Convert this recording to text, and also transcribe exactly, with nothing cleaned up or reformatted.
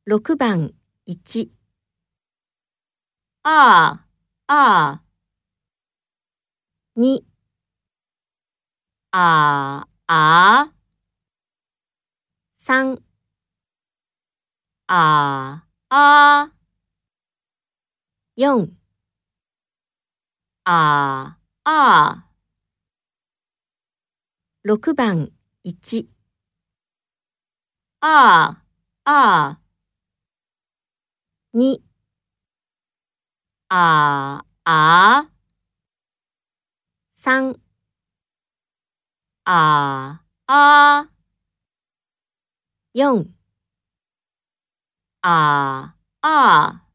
ろくばんいち、 ああ、あに、 あ、あ、 さん、 あ、あ、 よん、 あ、あ、 ろくばんいち、 あ、あ、 に、 あ、あ、 さん、 あ、あ、 よん、 あ、あ。